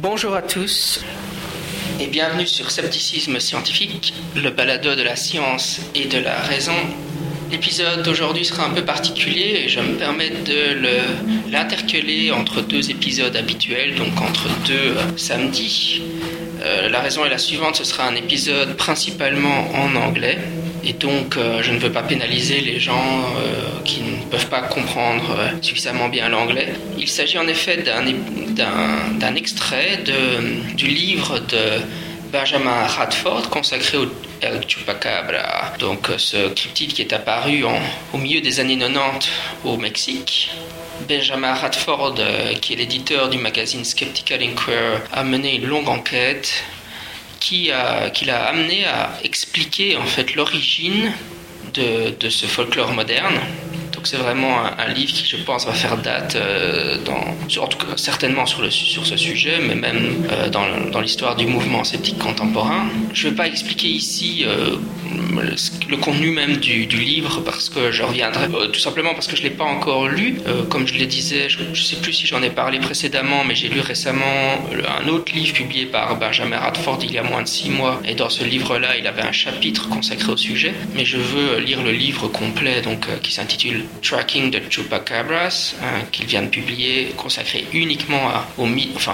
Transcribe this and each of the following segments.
Bonjour à tous et bienvenue sur Scepticisme Scientifique, le balado de la science et de la raison. L'épisode d'aujourd'hui sera un peu particulier et je me permets de l'intercaler entre deux épisodes habituels, donc entre deux samedis. La raison est la suivante, ce sera un épisode principalement en anglais. Et donc, je ne veux pas pénaliser les gens qui ne peuvent pas comprendre suffisamment bien l'anglais. Il s'agit en effet d'un extrait du livre de Benjamin Radford consacré au El Chupacabra. Donc, ce cryptide qui est apparu au milieu des années 90 au Mexique. Benjamin Radford, qui est l'éditeur du magazine Skeptical Inquirer, a mené une longue enquête qui l'a amené à expliquer en fait l'origine de ce folklore moderne. Donc c'est vraiment un livre qui, je pense, va faire date, en tout cas certainement sur ce sujet, mais même dans l'histoire du mouvement sceptique contemporain. Je ne vais pas expliquer ici le contenu même du livre, parce que je reviendrai tout simplement parce que je ne l'ai pas encore lu. Comme je le disais, je ne sais plus si j'en ai parlé précédemment, mais j'ai lu récemment un autre livre publié par Benjamin Radford il y a moins de 6 mois, et dans ce livre-là, il avait un chapitre consacré au sujet, mais je veux lire le livre complet, donc qui s'intitule Tracking the Chupacabras, qu'il vient de publier, consacré uniquement aux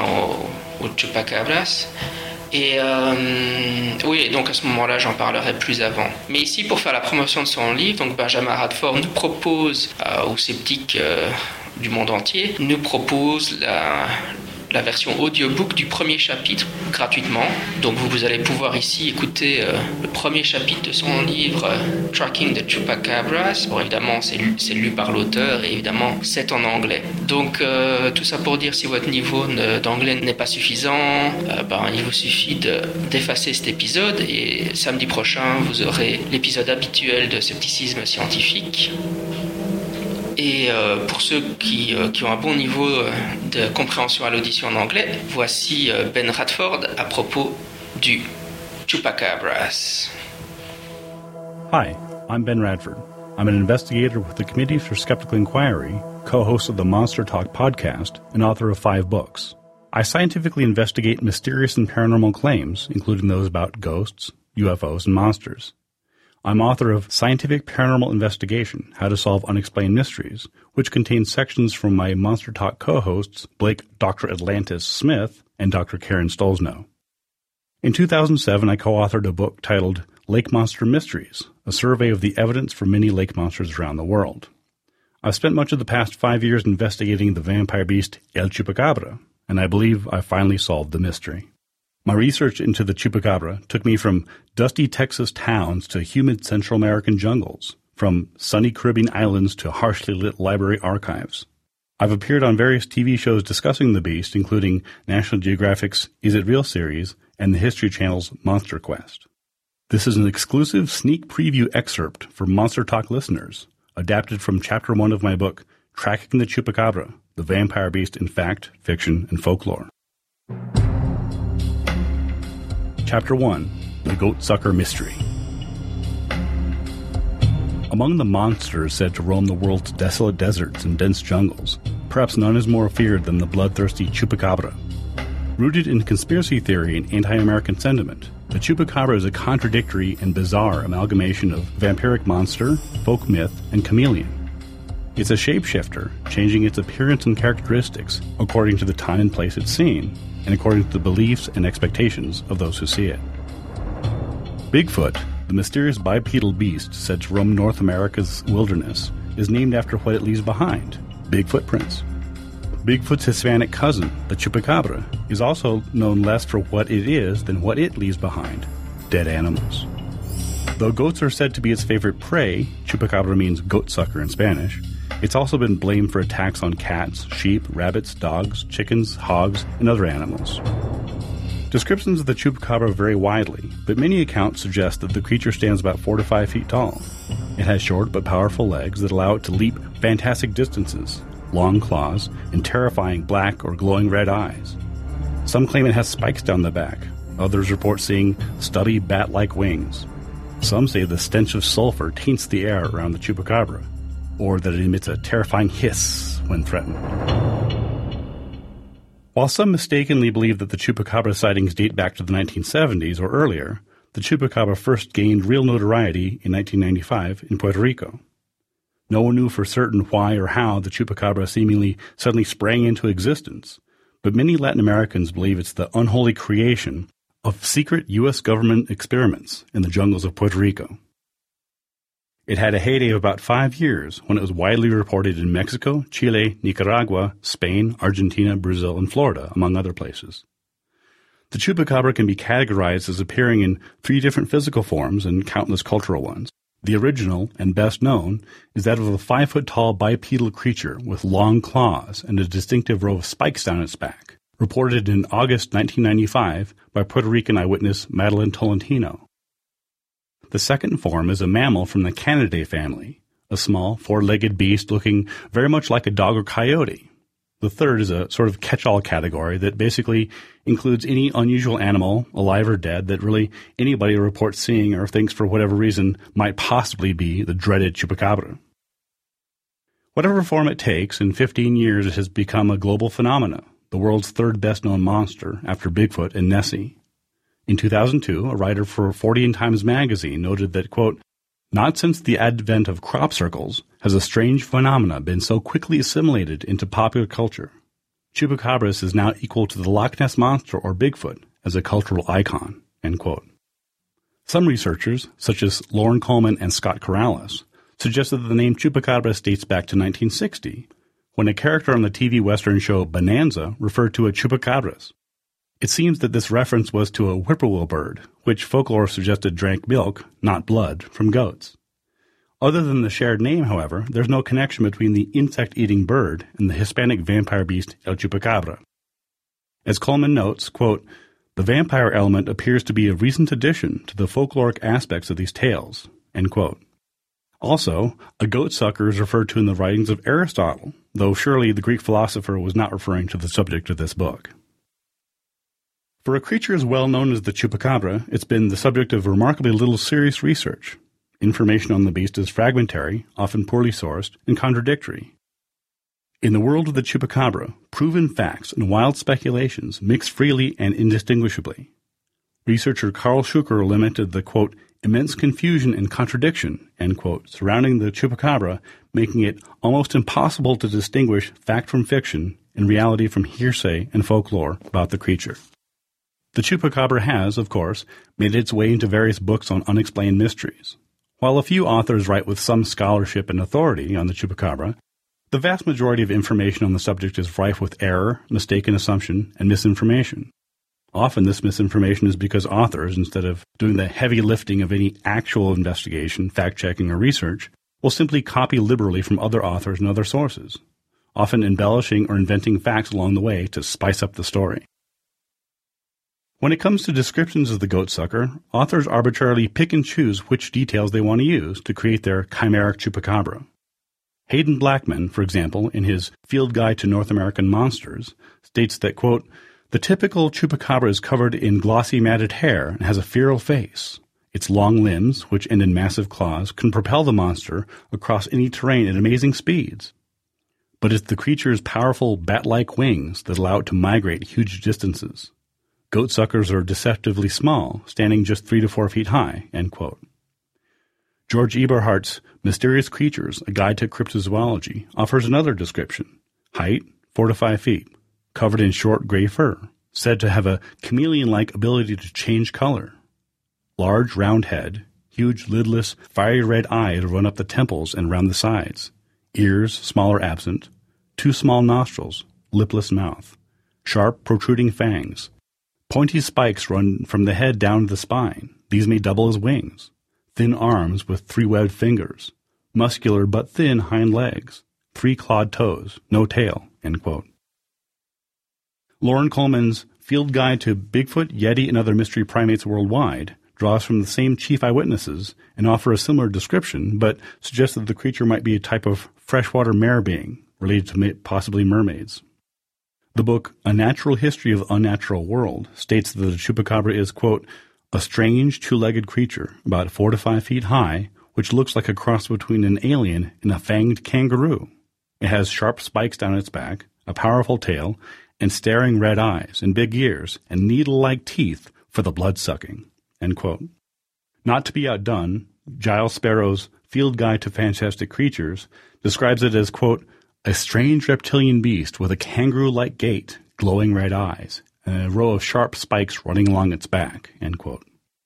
Chupacabras. Et oui, donc à ce moment-là, j'en parlerai plus avant. Mais ici, pour faire la promotion de son livre, donc Benjamin Radford nous propose, aux sceptiques du monde entier, nous propose la version audiobook du premier chapitre gratuitement. Donc vous allez pouvoir ici écouter le premier chapitre de son livre Tracking the Chupacabras. Bon, évidemment, c'est lu par l'auteur et évidemment, c'est en anglais. Donc tout ça pour dire, si votre niveau d'anglais n'est pas suffisant, il vous suffit d'effacer cet épisode et samedi prochain, vous aurez l'épisode habituel de Scepticisme Scientifique. Et pour ceux qui ont un bon niveau de compréhension à l'audition en anglais, voici Ben Radford à propos du Chupacabras. Hi, I'm Ben Radford. I'm an investigator with the Committee for Skeptical Inquiry, co-host of the Monster Talk podcast, and author of 5 books. I scientifically investigate mysterious and paranormal claims, including those about ghosts, UFOs, and monsters. I'm author of Scientific Paranormal Investigation, How to Solve Unexplained Mysteries, which contains sections from my Monster Talk co-hosts Blake Dr. Atlantis Smith and Dr. Karen Stolzno. In 2007, I co-authored a book titled Lake Monster Mysteries, a survey of the evidence for many lake monsters around the world. I've spent much of the past 5 years investigating the vampire beast El Chupacabra, and I believe I finally solved the mystery. My research into the Chupacabra took me from dusty Texas towns to humid Central American jungles, from sunny Caribbean islands to harshly lit library archives. I've appeared on various TV shows discussing the beast, including National Geographic's Is It Real series and the History Channel's Monster Quest. This is an exclusive sneak preview excerpt for Monster Talk listeners, adapted from Chapter 1 of my book, Tracking the Chupacabra, the Vampire Beast in Fact, Fiction, and Folklore. Chapter 1, The Goatsucker Mystery. Among the monsters said to roam the world's desolate deserts and dense jungles, perhaps none is more feared than the bloodthirsty Chupacabra. Rooted in conspiracy theory and anti-American sentiment, the Chupacabra is a contradictory and bizarre amalgamation of vampiric monster, folk myth, and chameleon. It's a shapeshifter, changing its appearance and characteristics according to the time and place it's seen, and according to the beliefs and expectations of those who see it. Bigfoot, the mysterious bipedal beast said to roam North America's wilderness, is named after what it leaves behind, big footprints. Bigfoot's Hispanic cousin, the Chupacabra, is also known less for what it is than what it leaves behind, dead animals. Though goats are said to be its favorite prey, Chupacabra means goatsucker in Spanish, it's also been blamed for attacks on cats, sheep, rabbits, dogs, chickens, hogs, and other animals. Descriptions of the Chupacabra vary widely, but many accounts suggest that the creature stands about 4 to 5 feet tall. It has short but powerful legs that allow it to leap fantastic distances, long claws, and terrifying black or glowing red eyes. Some claim it has spikes down the back. Others report seeing stubby bat-like wings. Some say the stench of sulfur taints the air around the Chupacabra, or that it emits a terrifying hiss when threatened. While some mistakenly believe that the chupacabra sightings date back to the 1970s or earlier, the chupacabra first gained real notoriety in 1995 in Puerto Rico. No one knew for certain why or how the chupacabra seemingly suddenly sprang into existence, but many Latin Americans believe it's the unholy creation of secret U.S. government experiments in the jungles of Puerto Rico. It had a heyday of about 5 years when it was widely reported in Mexico, Chile, Nicaragua, Spain, Argentina, Brazil, and Florida, among other places. The chupacabra can be categorized as appearing in 3 different physical forms and countless cultural ones. The original, and best known, is that of a 5-foot-tall bipedal creature with long claws and a distinctive row of spikes down its back, reported in August 1995 by Puerto Rican eyewitness Madeline Tolentino. The second form is a mammal from the Canidae family, a small, 4-legged beast looking very much like a dog or coyote. The third is a sort of catch-all category that basically includes any unusual animal, alive or dead, that really anybody reports seeing or thinks for whatever reason might possibly be the dreaded chupacabra. Whatever form it takes, in 15 years it has become a global phenomenon, the world's third best-known monster after Bigfoot and Nessie. In 2002, a writer for Fortean Times magazine noted that, quote, "Not since the advent of crop circles has a strange phenomena been so quickly assimilated into popular culture. Chupacabras is now equal to the Loch Ness Monster or Bigfoot as a cultural icon," end quote. Some researchers, such as Lauren Coleman and Scott Corrales, suggested that the name Chupacabras dates back to 1960, when a character on the TV Western show Bonanza referred to a chupacabras. It seems that this reference was to a whippoorwill bird, which folklore suggested drank milk, not blood, from goats. Other than the shared name, however, there's no connection between the insect-eating bird and the Hispanic vampire beast El Chupacabra. As Coleman notes, quote, "The vampire element appears to be a recent addition to the folkloric aspects of these tales," end quote. Also, a goatsucker is referred to in the writings of Aristotle, though surely the Greek philosopher was not referring to the subject of this book. For a creature as well known as the chupacabra, it's been the subject of remarkably little serious research. Information on the beast is fragmentary, often poorly sourced, and contradictory. In the world of the chupacabra, proven facts and wild speculations mix freely and indistinguishably. Researcher Carl Schuker lamented the, quote, "immense confusion and contradiction," end quote, surrounding the chupacabra, making it almost impossible to distinguish fact from fiction and reality from hearsay and folklore about the creature. The chupacabra has, of course, made its way into various books on unexplained mysteries. While a few authors write with some scholarship and authority on the chupacabra, the vast majority of information on the subject is rife with error, mistaken assumption, and misinformation. Often this misinformation is because authors, instead of doing the heavy lifting of any actual investigation, fact-checking, or research, will simply copy liberally from other authors and other sources, often embellishing or inventing facts along the way to spice up the story. When it comes to descriptions of the goatsucker, authors arbitrarily pick and choose which details they want to use to create their chimeric chupacabra. Hayden Blackman, for example, in his Field Guide to North American Monsters, states that, quote, "The typical chupacabra is covered in glossy matted hair and has a feral face. Its long limbs, which end in massive claws, can propel the monster across any terrain at amazing speeds. But it's the creature's powerful bat-like wings that allow it to migrate huge distances. Goatsuckers are deceptively small, standing just 3 to 4 feet high," end quote. George Eberhardt's Mysterious Creatures, A Guide to Cryptozoology, offers another description. Height, 4 to 5 feet, covered in short gray fur, said to have a chameleon-like ability to change color. Large, round head, huge, lidless, fiery red eyes run up the temples and round the sides, ears small or absent, 2 small nostrils, lipless mouth, sharp, protruding fangs, pointy spikes run from the head down to the spine. These may double as wings. Thin arms with 3 webbed fingers. Muscular but thin hind legs. 3 clawed toes. No tail," end quote. Lauren Coleman's Field Guide to Bigfoot, Yeti, and Other Mystery Primates Worldwide draws from the same chief eyewitnesses and offer a similar description, but suggests that the creature might be a type of freshwater mare being, related to possibly mermaids. The book A Natural History of the Unnatural World states that the chupacabra is, quote, "a strange 2-legged creature about 4 to 5 feet high, which looks like a cross between an alien and a fanged kangaroo. It has sharp spikes down its back, a powerful tail, and staring red eyes and big ears and needle-like teeth for the blood-sucking." End quote. Not to be outdone, Giles Sparrow's Field Guide to Fantastic Creatures describes it as, quote, "a strange reptilian beast with a kangaroo-like gait, glowing red eyes, and a row of sharp spikes running along its back." End quote.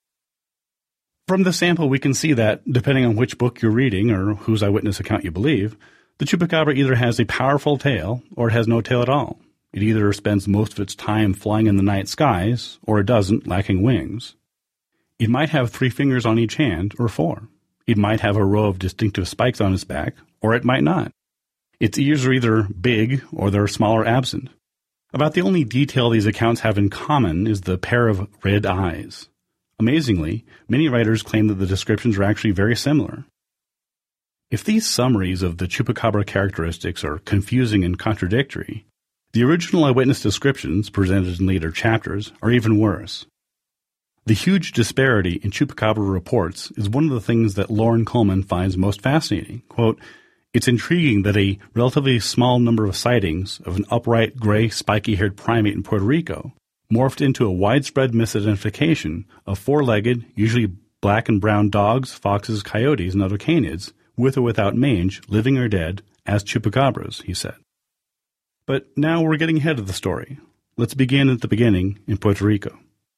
From the sample, we can see that, depending on which book you're reading or whose eyewitness account you believe, the chupacabra either has a powerful tail or it has no tail at all. It either spends most of its time flying in the night skies, or it doesn't, lacking wings. It might have 3 fingers on each hand, or 4. It might have a row of distinctive spikes on its back, or it might not. Its ears are either big or they're small or absent. About the only detail these accounts have in common is the pair of red eyes. Amazingly, many writers claim that the descriptions are actually very similar. If these summaries of the chupacabra characteristics are confusing and contradictory, the original eyewitness descriptions, presented in later chapters, are even worse. The huge disparity in chupacabra reports is one of the things that Loren Coleman finds most fascinating. Quote, "It's intriguing that a relatively small number of sightings of an upright, gray, spiky-haired primate in Puerto Rico morphed into a widespread misidentification of 4-legged, usually black and brown dogs, foxes, coyotes, and other canids, with or without mange, living or dead, as chupacabras," he said. But now we're getting ahead of the story. Let's begin at the beginning in Puerto Rico.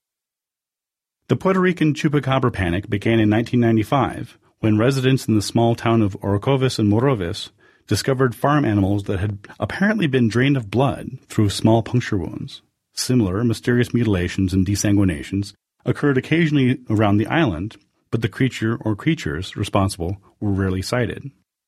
The Puerto Rican chupacabra panic began in 1995 when residents in the small town of Orocovis and Morovis discovered farm animals that had apparently been drained of blood through small puncture wounds. Similar mysterious mutilations and desanguinations occurred occasionally around the island, but the creature or creatures responsible were rarely sighted.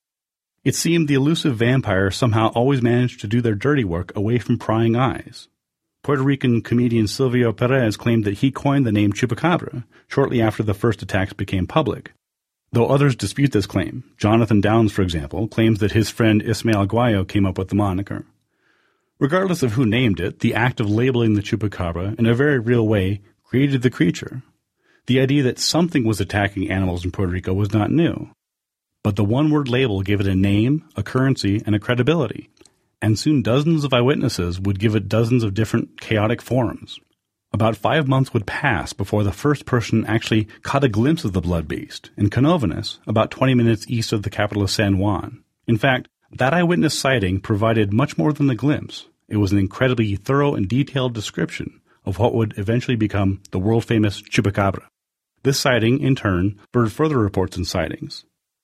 It seemed the elusive vampire somehow always managed to do their dirty work away from prying eyes. Puerto Rican comedian Silvio Perez claimed that he coined the name chupacabra shortly after the first attacks became public. Though others dispute this claim, Jonathan Downs, for example, claims that his friend Ismael Guayo came up with the moniker. Regardless of who named it, the act of labeling the chupacabra in a very real way created the creature. The idea that something was attacking animals in Puerto Rico was not new. But the one-word label gave it a name, a currency, and a credibility. And soon dozens of eyewitnesses would give it dozens of different chaotic forms. About 5 months would pass before the first person actually caught a glimpse of the blood beast in Canóvanas, about 20 minutes east of the capital of San Juan. In fact, that eyewitness sighting provided much more than a glimpse. It was an incredibly thorough and detailed description of what would eventually become the world-famous chupacabra. This sighting, in turn, spurred further reports and sightings.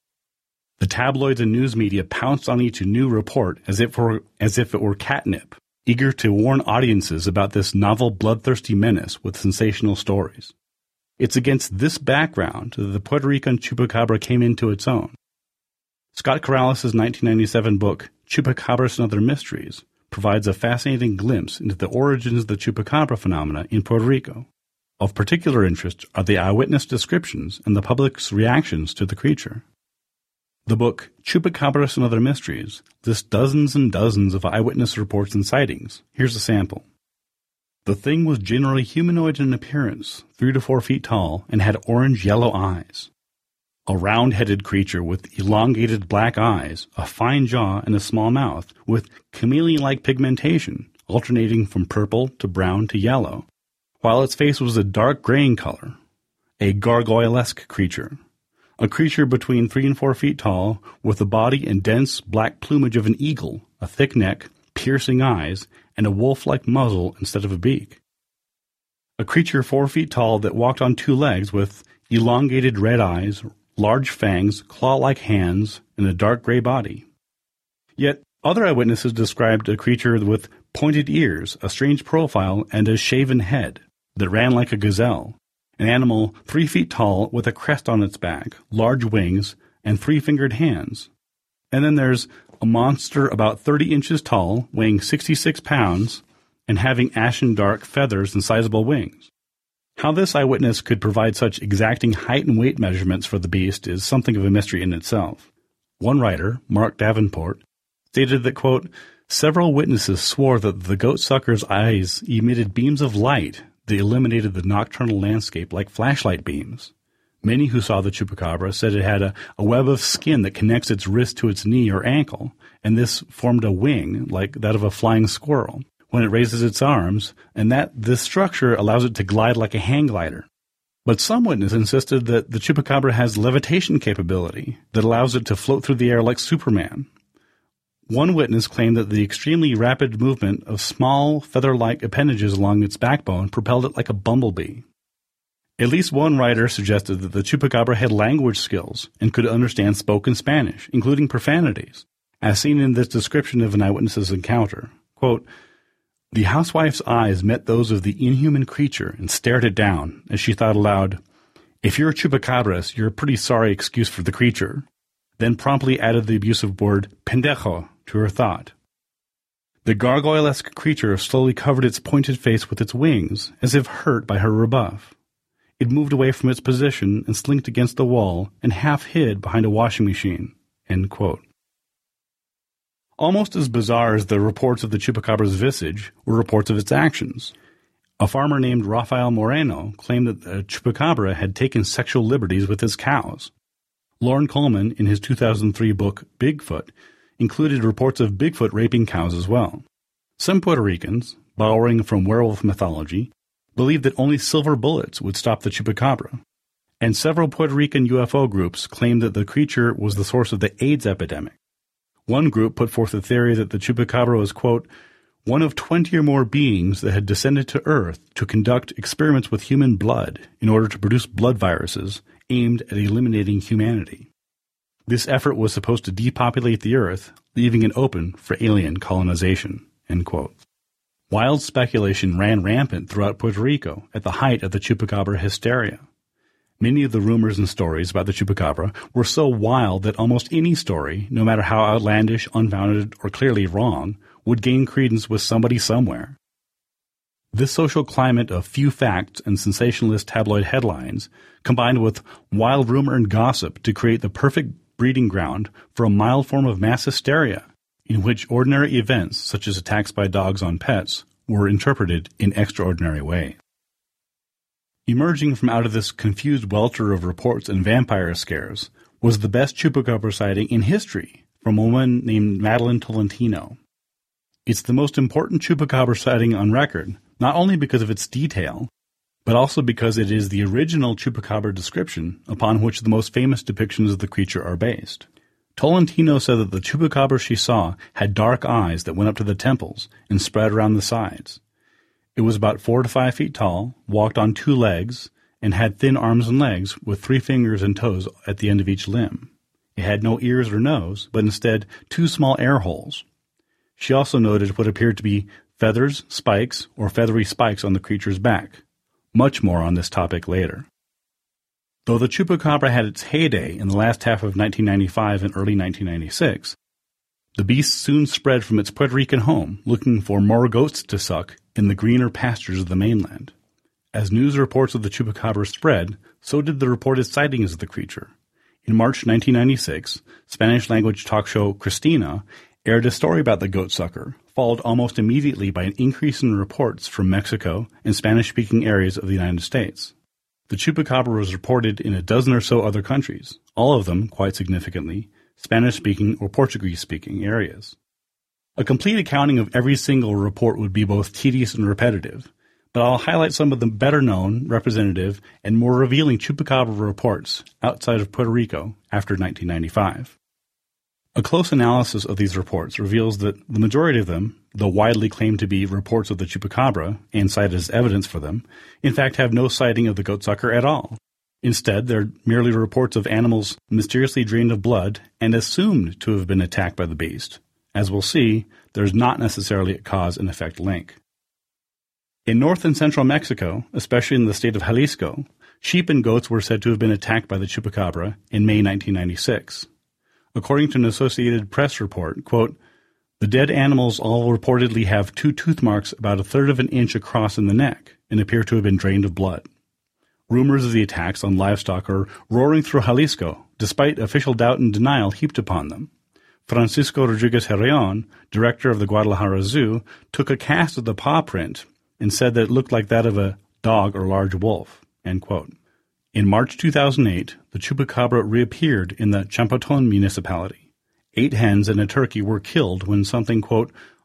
The tabloids and news media pounced on each new report as if it were catnip, eager to warn audiences about this novel bloodthirsty menace with sensational stories. It's against this background that the Puerto Rican chupacabra came into its own. Scott Corrales' 1997 book, Chupacabras and Other Mysteries, provides a fascinating glimpse into the origins of the chupacabra phenomena in Puerto Rico. Of particular interest are the eyewitness descriptions and the public's reactions to the creature. The book, Chupacabras and Other Mysteries, lists dozens and dozens of eyewitness reports and sightings. Here's a sample. The thing was generally humanoid in appearance, 3 to 4 feet tall, and had orange-yellow eyes. A round-headed creature with elongated black eyes, a fine jaw, and a small mouth, with chameleon-like pigmentation, alternating from purple to brown to yellow, while its face was a dark gray in color. A gargoyle-esque creature. A creature between 3 and 4 feet tall, with the body and dense black plumage of an eagle, a thick neck, piercing eyes, and a wolf-like muzzle instead of a beak. A creature 4 feet tall that walked on 2 legs with elongated red eyes, large fangs, claw-like hands, and a dark gray body. Yet other eyewitnesses described a creature with pointed ears, a strange profile, and a shaven head that ran like a gazelle. An animal 3 feet tall with a crest on its back, large wings, and 3-fingered hands. And then there's a monster about 30 inches tall, weighing 66 pounds, and having ashen dark feathers and sizable wings. How this eyewitness could provide such exacting height and weight measurements for the beast is something of a mystery in itself. One writer, Mark Davenport, stated that, quote, several witnesses swore that the goat-sucker's eyes emitted beams of light that illuminated the nocturnal landscape like flashlight beams. Many who saw the chupacabra said it had a web of skin that connects its wrist to its knee or ankle, and this formed a wing like that of a flying squirrel, when it raises its arms, and that this structure allows it to glide like a hang glider. But some witnesses insisted that the chupacabra has levitation capability that allows it to float through the air like Superman. One witness claimed that the extremely rapid movement of small, feather-like appendages along its backbone propelled it like a bumblebee. At least one writer suggested that the chupacabra had language skills and could understand spoken Spanish, including profanities, as seen in this description of an eyewitness's encounter. Quote, "The housewife's eyes met those of the inhuman creature and stared it down, as she thought aloud, 'If you're a chupacabras, you're a pretty sorry excuse for the creature,' then promptly added the abusive word pendejo to her thought. The gargoyle-esque creature slowly covered its pointed face with its wings, as if hurt by her rebuff. It moved away from its position and slinked against the wall and half hid behind a washing machine." End quote. Almost as bizarre as the reports of the chupacabra's visage were reports of its actions. A farmer named Rafael Moreno claimed that the chupacabra had taken sexual liberties with his cows. Loren Coleman, in his 2003 book Bigfoot, included reports of Bigfoot raping cows as well. Some Puerto Ricans, borrowing from werewolf mythology, believed that only silver bullets would stop the chupacabra, and several Puerto Rican UFO groups claimed that the creature was the source of the AIDS epidemic. One group put forth the theory that the chupacabra was, quote, "one of 20 or more beings that had descended to Earth to conduct experiments with human blood in order to produce blood viruses aimed at eliminating humanity. This effort was supposed to depopulate the Earth, leaving it open for alien colonization." End quote. Wild speculation ran rampant throughout Puerto Rico at the height of the chupacabra hysteria. Many of the rumors and stories about the chupacabra were so wild that almost any story, no matter how outlandish, unfounded, or clearly wrong, would gain credence with somebody somewhere. This social climate of few facts and sensationalist tabloid headlines, combined with wild rumor and gossip to create the perfect breeding ground for a mild form of mass hysteria, in which ordinary events, such as attacks by dogs on pets, were interpreted in extraordinary ways. Emerging from out of this confused welter of reports and vampire scares was the best chupacabra sighting in history from a woman named Madeline Tolentino. It's the most important chupacabra sighting on record, not only because of its detail, but also because it is the original chupacabra description upon which the most famous depictions of the creature are based. Tolentino said that the chupacabra she saw had dark eyes that went up to the temples and spread around the sides. It was about 4 to 5 feet tall, walked on 2 legs, and had thin arms and legs with 3 fingers and toes at the end of each limb. It had no ears or nose, but instead 2 small air holes. She also noted what appeared to be feathers, spikes, or feathery spikes on the creature's back. Much more on this topic later. Though the chupacabra had its heyday in the last half of 1995 and early 1996, the beast soon spread from its Puerto Rican home, looking for more goats to suck in the greener pastures of the mainland. As news reports of the chupacabra spread, so did the reported sightings of the creature. In March 1996, Spanish-language talk show Christina aired a story about the goat sucker, followed almost immediately by an increase in reports from Mexico and Spanish-speaking areas of the United States. The chupacabra was reported in a dozen or so other countries, all of them, quite significantly, Spanish-speaking or Portuguese-speaking areas. A complete accounting of every single report would be both tedious and repetitive, but I'll highlight some of the better-known, representative, and more revealing chupacabra reports outside of Puerto Rico after 1995. A close analysis of these reports reveals that the majority of them, though widely claimed to be reports of the chupacabra and cited as evidence for them, in fact have no sighting of the goatsucker at all. Instead, they're merely reports of animals mysteriously drained of blood and assumed to have been attacked by the beast. As we'll see, there's not necessarily a cause and effect link. In north and central Mexico, especially in the state of Jalisco, sheep and goats were said to have been attacked by the chupacabra in May 1996. According to an Associated Press report, quote, "The dead animals all reportedly have 2 tooth marks about 1/3 of an inch across in the neck and appear to have been drained of blood." Rumors of the attacks on livestock are roaring through Jalisco, despite official doubt and denial heaped upon them. Francisco Rodriguez Herreon, director of the Guadalajara Zoo, took a cast of the paw print and said that it looked like that of a dog or large wolf, end quote. In March 2008, the chupacabra reappeared in the Champotón municipality. 8 hens and a turkey were killed when something, quote,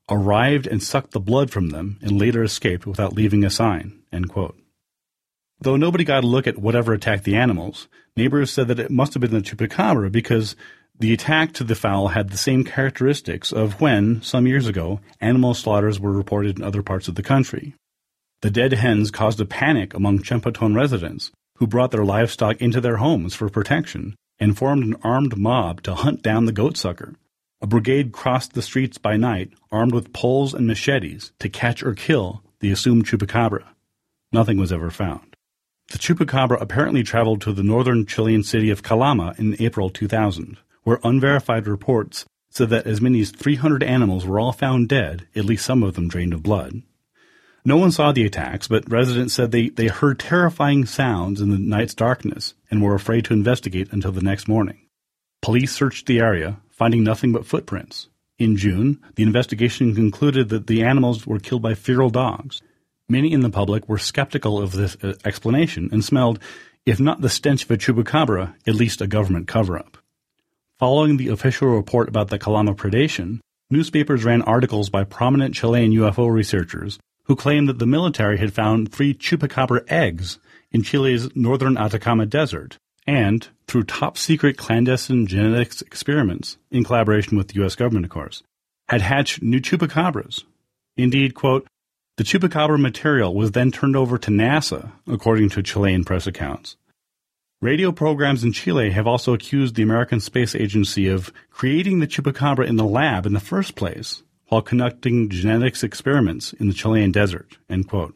arrived and sucked the blood from them and later escaped without leaving a sign, end quote. Though nobody got a look at whatever attacked the animals, neighbors said that it must have been the chupacabra because the attack to the fowl had the same characteristics of when, some years ago, animal slaughters were reported in other parts of the country. The dead hens caused a panic among Chempatón residents, who brought their livestock into their homes for protection and formed an armed mob to hunt down the goatsucker. A brigade crossed the streets by night, armed with poles and machetes, to catch or kill the assumed chupacabra. Nothing was ever found. The chupacabra apparently traveled to the northern Chilean city of Calama in April 2000, where unverified reports said that as many as 300 animals were all found dead, at least some of them drained of blood. No one saw the attacks, but residents said they heard terrifying sounds in the night's darkness and were afraid to investigate until the next morning. Police searched the area, finding nothing but footprints. In June, the investigation concluded that the animals were killed by feral dogs. Many in the public were skeptical of this explanation and smelled, if not the stench of a chupacabra, at least a government cover-up. Following the official report about the Calama predation, newspapers ran articles by prominent Chilean UFO researchers who claimed that the military had found 3 chupacabra eggs in Chile's northern Atacama Desert and, through top-secret clandestine genetics experiments, in collaboration with the U.S. government, of course, had hatched new chupacabras. Indeed, quote, the chupacabra material was then turned over to NASA, according to Chilean press accounts. Radio programs in Chile have also accused the American Space Agency of creating the chupacabra in the lab in the first place, while conducting genetics experiments in the Chilean desert, end quote.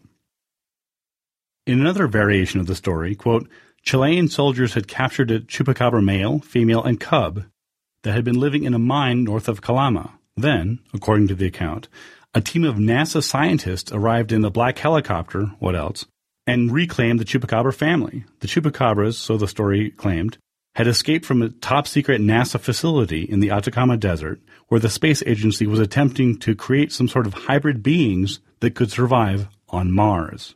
In another variation of the story, quote, Chilean soldiers had captured a chupacabra male, female, and cub that had been living in a mine north of Calama. Then, according to the account, a team of NASA scientists arrived in a black helicopter, what else, and reclaimed the chupacabra family. The chupacabras, so the story claimed, had escaped from a top-secret NASA facility in the Atacama Desert, where the space agency was attempting to create some sort of hybrid beings that could survive on Mars.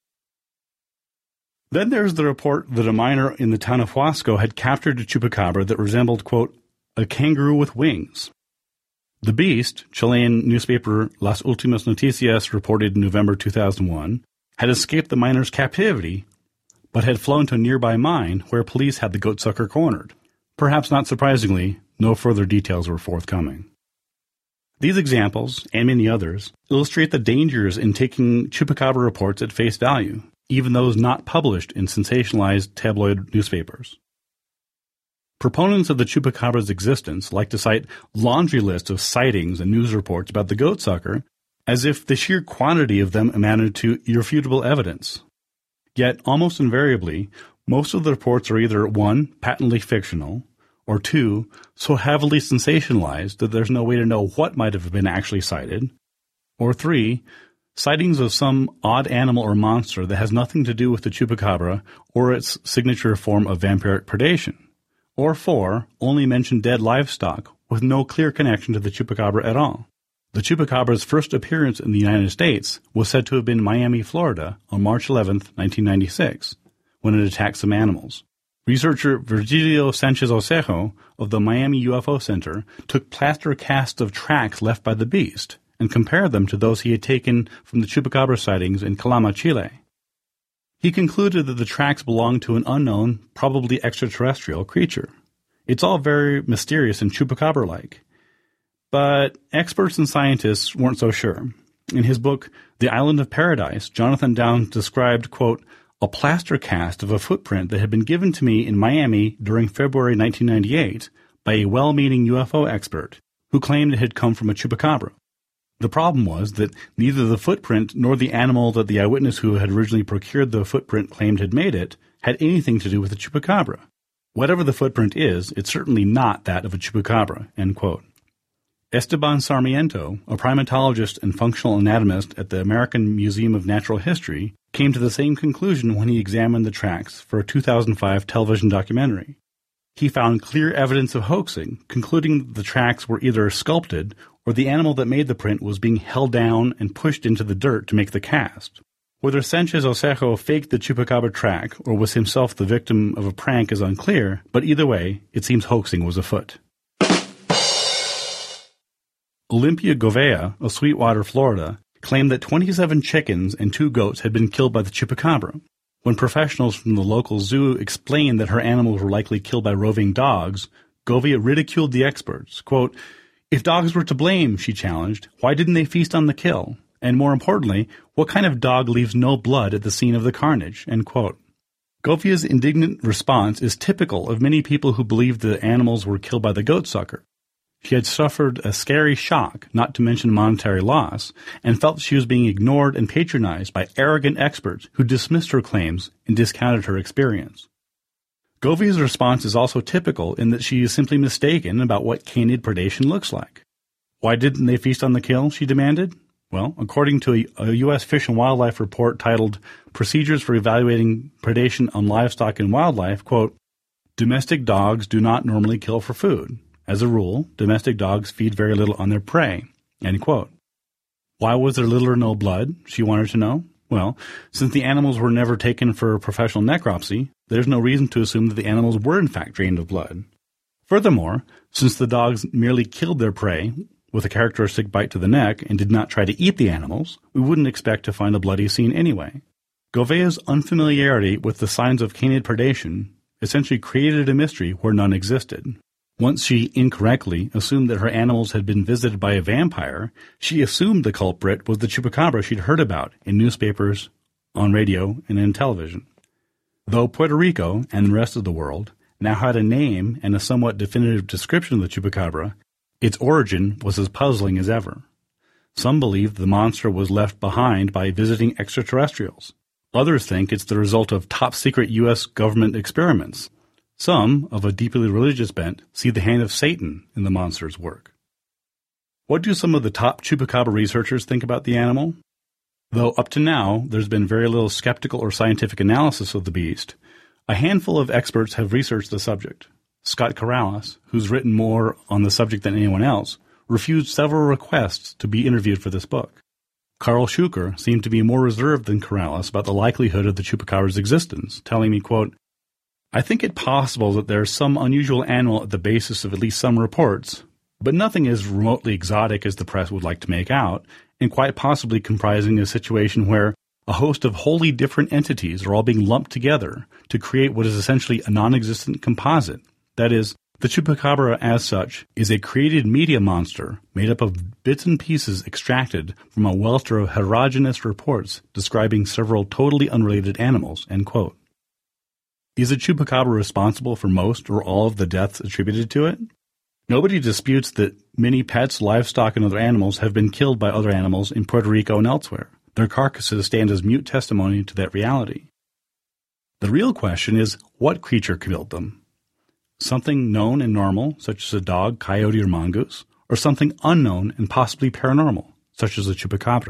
Then there's the report that a miner in the town of Huasco had captured a chupacabra that resembled, quote, a kangaroo with wings. The beast, Chilean newspaper Las Últimas Noticias reported in November 2001, had escaped the miner's captivity, but had flown to a nearby mine where police had the goatsucker cornered. Perhaps not surprisingly, no further details were forthcoming. These examples, and many others, illustrate the dangers in taking chupacabra reports at face value, even those not published in sensationalized tabloid newspapers. Proponents of the chupacabra's existence like to cite laundry lists of sightings and news reports about the goatsucker as if the sheer quantity of them amounted to irrefutable evidence. Yet, almost invariably, most of the reports are either 1, patently fictional, or 2, so heavily sensationalized that there's no way to know what might have been actually cited, or 3, sightings of some odd animal or monster that has nothing to do with the chupacabra or its signature form of vampiric predation, or 4, only mention dead livestock with no clear connection to the chupacabra at all. The chupacabra's first appearance in the United States was said to have been in Miami, Florida, on March 11, 1996, when it attacked some animals. Researcher Virgilio Sanchez Osejo of the Miami UFO Center took plaster casts of tracks left by the beast and compared them to those he had taken from the chupacabra sightings in Calama, Chile. He concluded that the tracks belonged to an unknown, probably extraterrestrial creature. It's all very mysterious and chupacabra-like. But experts and scientists weren't so sure. In his book, The Island of Paradise, Jonathan Downes described, quote, a plaster cast of a footprint that had been given to me in Miami during February 1998 by a well-meaning UFO expert who claimed it had come from a chupacabra. The problem was that neither the footprint nor the animal that the eyewitness who had originally procured the footprint claimed had made it had anything to do with the chupacabra. Whatever the footprint is, it's certainly not that of a chupacabra, end quote. Esteban Sarmiento, a primatologist and functional anatomist at the American Museum of Natural History, came to the same conclusion when he examined the tracks for a 2005 television documentary. He found clear evidence of hoaxing, concluding that the tracks were either sculpted or the animal that made the print was being held down and pushed into the dirt to make the cast. Whether Sanchez Osejo faked the chupacabra track or was himself the victim of a prank is unclear, but either way, it seems hoaxing was afoot. Olympia Govea of Sweetwater, Florida, claimed that 27 chickens and 2 goats had been killed by the chupacabra. When professionals from the local zoo explained that her animals were likely killed by roving dogs, Govea ridiculed the experts. Quote, "If dogs were to blame," she challenged, "why didn't they feast on the kill? And more importantly, what kind of dog leaves no blood at the scene of the carnage?" End quote. Govea's indignant response is typical of many people who believe the animals were killed by the goatsucker. She had suffered a scary shock, not to mention monetary loss, and felt she was being ignored and patronized by arrogant experts who dismissed her claims and discounted her experience. Govea's response is also typical in that she is simply mistaken about what canid predation looks like. Why didn't they feast on the kill, she demanded? Well, according to a U.S. Fish and Wildlife report titled Procedures for Evaluating Predation on Livestock and Wildlife, quote, "Domestic dogs do not normally kill for food. As a rule, domestic dogs feed very little on their prey." End quote. Why was there little or no blood, she wanted to know? Well, since the animals were never taken for professional necropsy, there's no reason to assume that the animals were in fact drained of blood. Furthermore, since the dogs merely killed their prey with a characteristic bite to the neck and did not try to eat the animals, we wouldn't expect to find a bloody scene anyway. Govea's unfamiliarity with the signs of canid predation essentially created a mystery where none existed. Once she incorrectly assumed that her animals had been visited by a vampire, she assumed the culprit was the chupacabra she'd heard about in newspapers, on radio, and in television. Though Puerto Rico and the rest of the world now had a name and a somewhat definitive description of the chupacabra, its origin was as puzzling as ever. Some believe the monster was left behind by visiting extraterrestrials. Others think it's the result of top-secret U.S. government experiments. Some, of a deeply religious bent, see the hand of Satan in the monster's work. What do some of the top chupacabra researchers think about the animal? Though up to now there's been very little skeptical or scientific analysis of the beast, a handful of experts have researched the subject. Scott Corrales, who's written more on the subject than anyone else, refused several requests to be interviewed for this book. Carl Schuker seemed to be more reserved than Corrales about the likelihood of the chupacabra's existence, telling me, quote, "I think it possible that there's some unusual animal at the basis of at least some reports, but nothing as remotely exotic as the press would like to make out, and quite possibly comprising a situation where a host of wholly different entities are all being lumped together to create what is essentially a non-existent composite. That is, the chupacabra as such is a created media monster made up of bits and pieces extracted from a welter of heterogeneous reports describing several totally unrelated animals." End quote. Is the chupacabra responsible for most or all of the deaths attributed to it? Nobody disputes that many pets, livestock, and other animals have been killed by other animals in Puerto Rico and elsewhere. Their carcasses stand as mute testimony to that reality. The real question is, what creature killed them? Something known and normal, such as a dog, coyote, or mongoose, or something unknown and possibly paranormal, such as a chupacabra?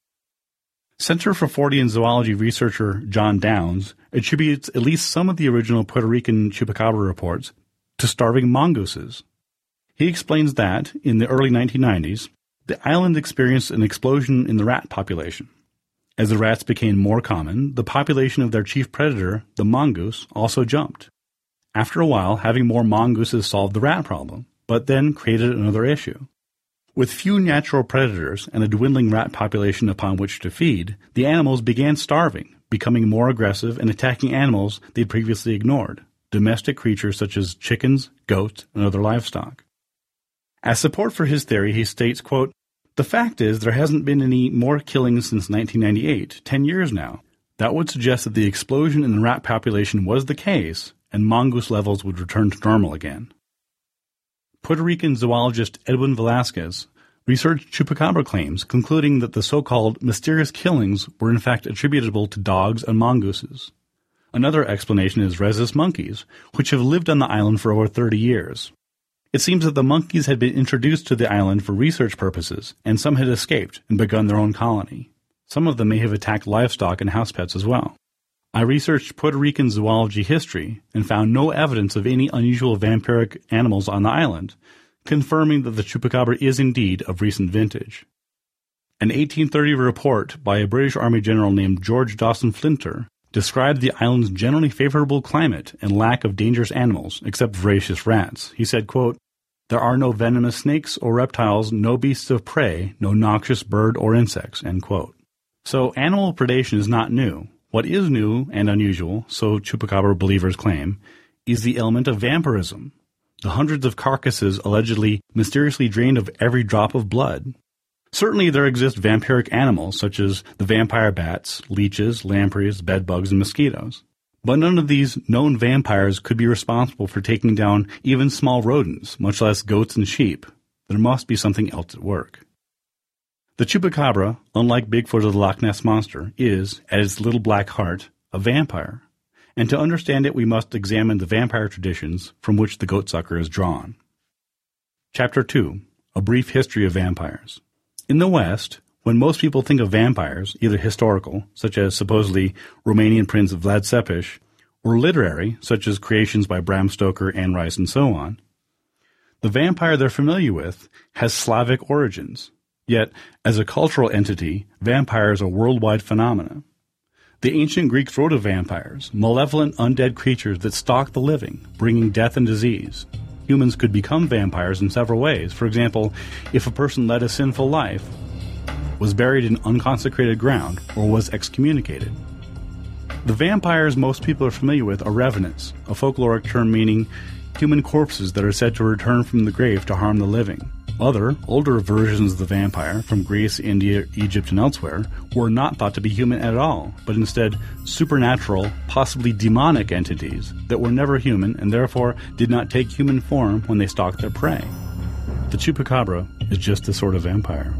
Center for Fortean zoology researcher John Downs attributes at least some of the original Puerto Rican chupacabra reports to starving mongooses. He explains that, in the early 1990s, the island experienced an explosion in the rat population. As the rats became more common, the population of their chief predator, the mongoose, also jumped. After a while, having more mongooses solved the rat problem, but then created another issue. With few natural predators and a dwindling rat population upon which to feed, the animals began starving, becoming more aggressive and attacking animals they'd previously ignored, domestic creatures such as chickens, goats, and other livestock. As support for his theory, he states, quote, "The fact is there hasn't been any more killings since 1998, 10 years now. That would suggest that the explosion in the rat population was the case, and mongoose levels would return to normal again." Puerto Rican zoologist Edwin Velasquez researched chupacabra claims, concluding that the so-called mysterious killings were in fact attributable to dogs and mongooses. Another explanation is rhesus monkeys, which have lived on the island for over 30 years. It seems that the monkeys had been introduced to the island for research purposes, and some had escaped and begun their own colony. Some of them may have attacked livestock and house pets as well. I researched Puerto Rican zoology history and found no evidence of any unusual vampiric animals on the island, confirming that the chupacabra is indeed of recent vintage. An 1830 report by a British Army general named George Dawson Flinter described the island's generally favorable climate and lack of dangerous animals, except voracious rats. He said, quote, There are no venomous snakes or reptiles, no beasts of prey, no noxious bird or insects, end quote. So animal predation is not new. What is new and unusual, so Chupacabra believers claim, is the element of vampirism. The hundreds of carcasses allegedly mysteriously drained of every drop of blood. Certainly there exist vampiric animals such as the vampire bats, leeches, lampreys, bedbugs, and mosquitoes. But none of these known vampires could be responsible for taking down even small rodents, much less goats and sheep. There must be something else at work. The Chupacabra, unlike Bigfoot or the Loch Ness Monster, is, at its little black heart, a vampire. And to understand it, we must examine the vampire traditions from which the goatsucker is drawn. Chapter 2. A Brief History of Vampires. In the West, when most people think of vampires, either historical, such as supposedly Romanian prince Vlad Țepeș, or literary, such as creations by Bram Stoker, Anne Rice, and so on, the vampire they're familiar with has Slavic origins. Yet, as a cultural entity, vampires are worldwide phenomena. The ancient Greeks wrote of vampires, malevolent undead creatures that stalk the living, bringing death and disease. Humans could become vampires in several ways. For example, if a person led a sinful life, was buried in unconsecrated ground, or was excommunicated. The vampires most people are familiar with are revenants, a folkloric term meaning human corpses that are said to return from the grave to harm the living. Other, older versions of the vampire, from Greece, India, Egypt, and elsewhere, were not thought to be human at all, but instead supernatural, possibly demonic entities that were never human and therefore did not take human form when they stalked their prey. The Chupacabra is just this sort of vampire.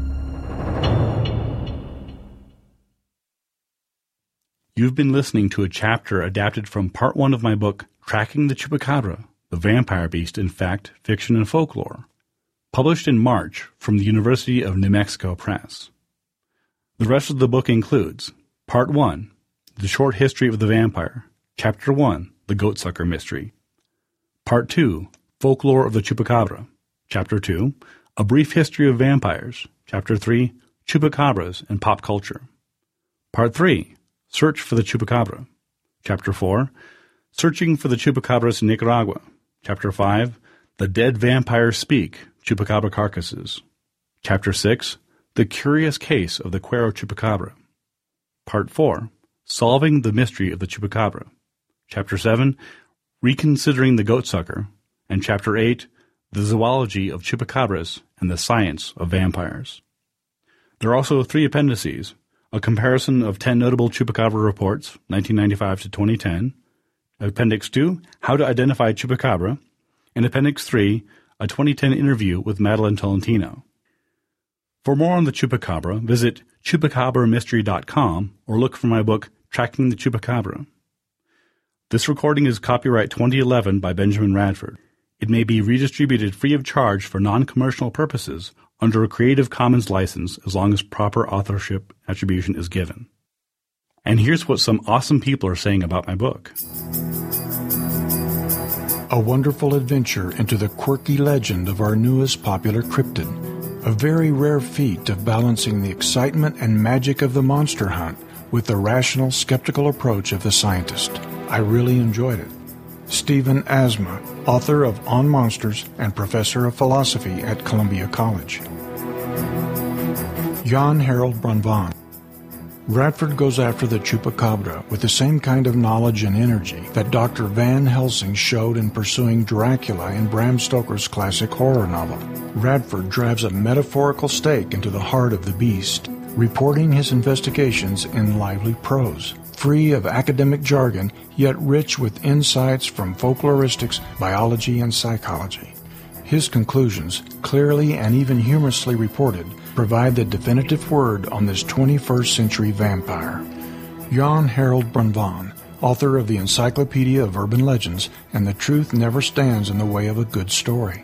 You've been listening to a chapter adapted from Part 1 of my book, Tracking the Chupacabra, the Vampire Beast in Fact, Fiction, and Folklore, published in March from the University of New Mexico Press. The rest of the book includes Part 1, The Short History of the Vampire, Chapter 1, The Goatsucker Mystery, Part 2, Folklore of the Chupacabra, Chapter 2, A Brief History of Vampires, Chapter 3, Chupacabras and Pop Culture, Part 3, Search for the Chupacabra, Chapter 4, Searching for the Chupacabras in Nicaragua, Chapter 5, The Dead Vampires Speak, Chupacabra Carcasses, Chapter 6, The Curious Case of the Cuero Chupacabra, Part 4, Solving the Mystery of the Chupacabra, Chapter 7, Reconsidering the Goatsucker, and Chapter 8, The Zoology of Chupacabras and the Science of Vampires. There are also 3 appendices, a comparison of 10 notable Chupacabra reports, 1995 to 2010, Appendix 2, How to Identify Chupacabra, and Appendix 3, a 2010 interview with Madeline Tolentino. For more on the Chupacabra, visit chupacabramystery.com or look for my book, Tracking the Chupacabra. This recording is copyright 2011 by Benjamin Radford. It may be redistributed free of charge for non-commercial purposes under a Creative Commons license as long as proper authorship attribution is given. And here's what some awesome people are saying about my book. A wonderful adventure into the quirky legend of our newest popular cryptid. A very rare feat of balancing the excitement and magic of the monster hunt with the rational, skeptical approach of the scientist. I really enjoyed it. Stephen Asma, author of On Monsters and professor of philosophy at Columbia College. Jan Harold Brunvand. Radford goes after the Chupacabra with the same kind of knowledge and energy that Dr. Van Helsing showed in pursuing Dracula in Bram Stoker's classic horror novel. Radford drives a metaphorical stake into the heart of the beast, reporting his investigations in lively prose, free of academic jargon, yet rich with insights from folkloristics, biology, and psychology. His conclusions, clearly and even humorously reported, provide the definitive word on this 21st century vampire. Jan Harold Brunvand, author of the Encyclopedia of Urban Legends and The Truth Never Stands in the Way of a Good Story.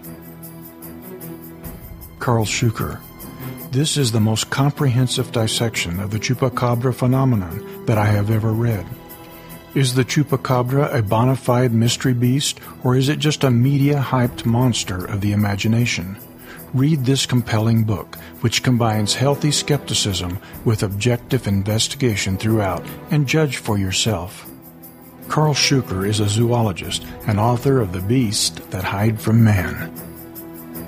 Karl Shuker. This is the most comprehensive dissection of the Chupacabra phenomenon that I have ever read. Is the Chupacabra a bona fide mystery beast, or is it just a media-hyped monster of the imagination? Read this compelling book, which combines healthy skepticism with objective investigation throughout, and judge for yourself. Karl Shuker is a zoologist and author of The Beast That Hide from Man.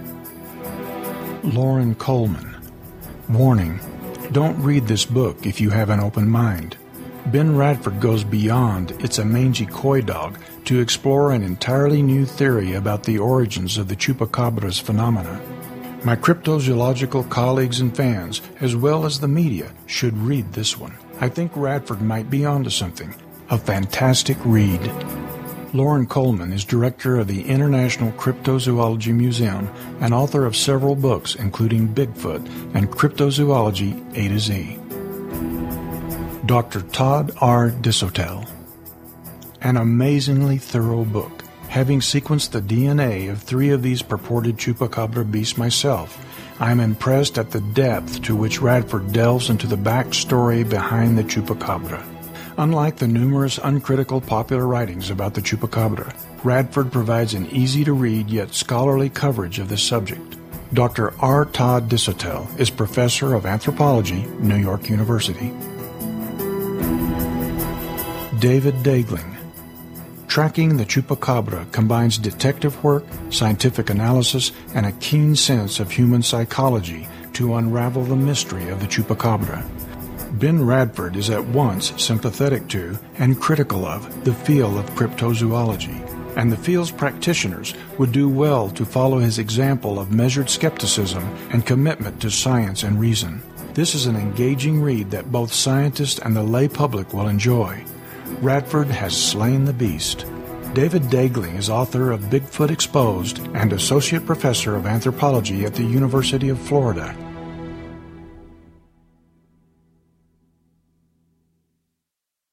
Loren Coleman. Warning: don't read this book if you have an open mind. Ben Radford goes beyond "it's a mangy coy dog" to explore an entirely new theory about the origins of the Chupacabra's phenomena. My cryptozoological colleagues and fans, as well as the media, should read this one. I think Radford might be onto something. A fantastic read. Loren Coleman is director of the International Cryptozoology Museum and author of several books, including Bigfoot and Cryptozoology A to Z. Dr. Todd R. Disotell. An amazingly thorough book. Having sequenced the DNA of 3 of these purported Chupacabra beasts myself, I am impressed at the depth to which Radford delves into the backstory behind the Chupacabra. Unlike the numerous uncritical popular writings about the Chupacabra, Radford provides an easy-to-read yet scholarly coverage of this subject. Dr. R. Todd Disotell is professor of anthropology, New York University. David Daegling. Tracking the Chupacabra combines detective work, scientific analysis, and a keen sense of human psychology to unravel the mystery of the Chupacabra. Ben Radford is at once sympathetic to and critical of the field of cryptozoology, and the field's practitioners would do well to follow his example of measured skepticism and commitment to science and reason. This is an engaging read that both scientists and the lay public will enjoy. Radford has slain the beast. David Daegling is author of Bigfoot Exposed and associate professor of anthropology at the University of Florida.